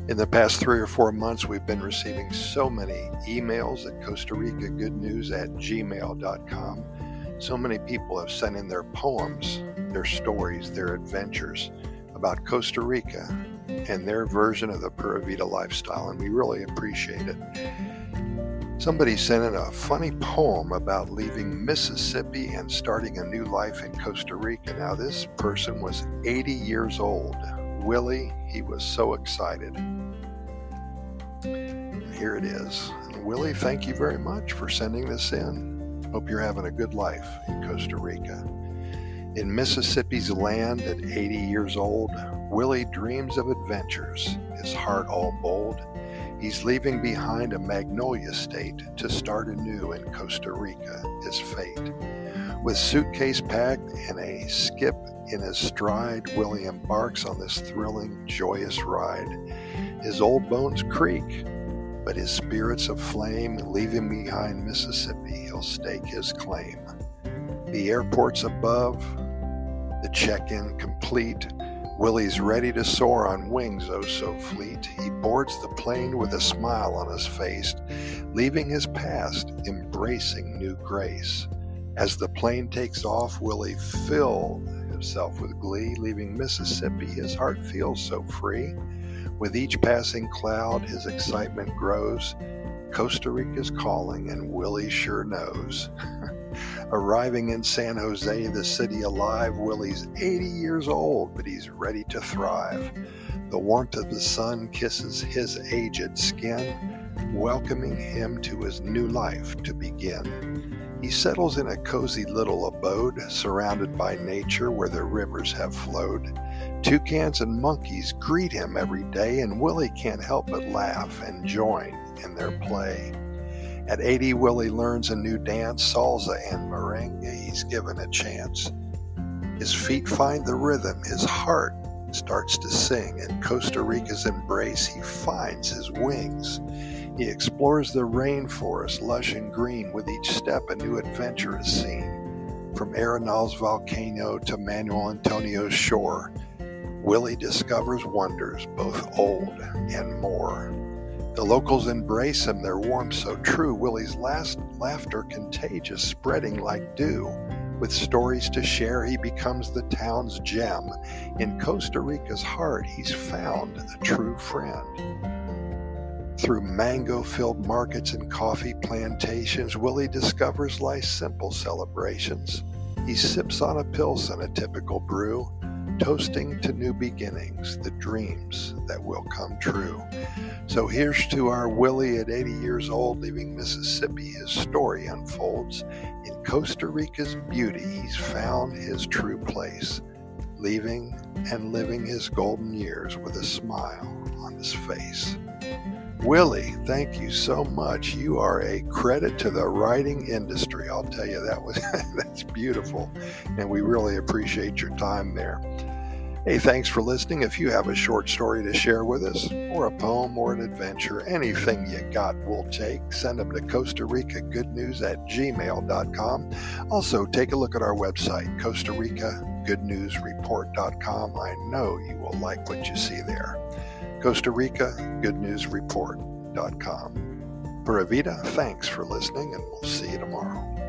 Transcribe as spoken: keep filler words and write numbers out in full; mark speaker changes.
Speaker 1: In the past three or four months, we've been receiving so many emails at Costa Rica Good News at gmail dot com. So many people have sent in their poems, their stories, their adventures about Costa Rica and their version of the Pura Vida lifestyle, and we really appreciate it. Somebody sent in a funny poem about leaving Mississippi and starting a new life in Costa Rica. Now, this person was eighty years old. Willie, he was so excited. And here it is. And Willie, thank you very much for sending this in. Hope you're having a good life in Costa Rica. In Mississippi's land at eighty years old, Willie dreams of adventures, his heart all bold. He's leaving behind a magnolia state to start anew in Costa Rica, his fate. With suitcase packed and a skip in his stride, Willie embarks on this thrilling, joyous ride. His old bones creak, but his spirits aflame, leaving behind Mississippi, he'll stake his claim. The airport's above, the check-in complete. Willie's ready to soar on wings oh so fleet. He boards the plane with a smile on his face, leaving his past, embracing new grace. As the plane takes off, Willie filled himself with glee, leaving Mississippi, his heart feels so free. With each passing cloud, his excitement grows. Costa Rica's calling, and Willie sure knows. Arriving in San Jose, the city alive, Willie's eighty years old, but he's ready to thrive. The warmth of the sun kisses his aged skin, welcoming him to his new life to begin. He settles in a cozy little abode, surrounded by nature where the rivers have flowed. Toucans and monkeys greet him every day, and Willie can't help but laugh and join in their play. At eighty, Willie learns a new dance, salsa and merengue. He's given a chance. His feet find the rhythm, his heart starts to sing. In Costa Rica's embrace, he finds his wings. He explores the rainforest, lush and green. With each step, a new adventure is seen. From Arenal's volcano to Manuel Antonio's shore, Willie discovers wonders, both old and more. The locals embrace him, their warmth so true. Willie's last laughter contagious, spreading like dew. With stories to share, he becomes the town's gem. In Costa Rica's heart, he's found a true friend. Through mango-filled markets and coffee plantations, Willie discovers life's simple celebrations. He sips on a Pilsen, a typical brew, toasting to new beginnings, the dreams that will come true. So here's to our Willie at eighty years old, leaving Mississippi. His story unfolds. In Costa Rica's beauty, he's found his true place, leaving and living his golden years with a smile on his face. Willie, thank you so much. You are a credit to the writing industry. I'll tell you, that was that's beautiful, and we really appreciate your time there. Hey, thanks for listening. If you have a short story to share with us, or a poem or an adventure, anything you got, we'll take. Send them to Costa Rica Good News at gmail dot com. Also, take a look at our website, Costa Rica Good News Report dot com. I know you will like what you see there. Costa Rica Good News Report dot com. Pura Vida, thanks for listening, and we'll see you tomorrow.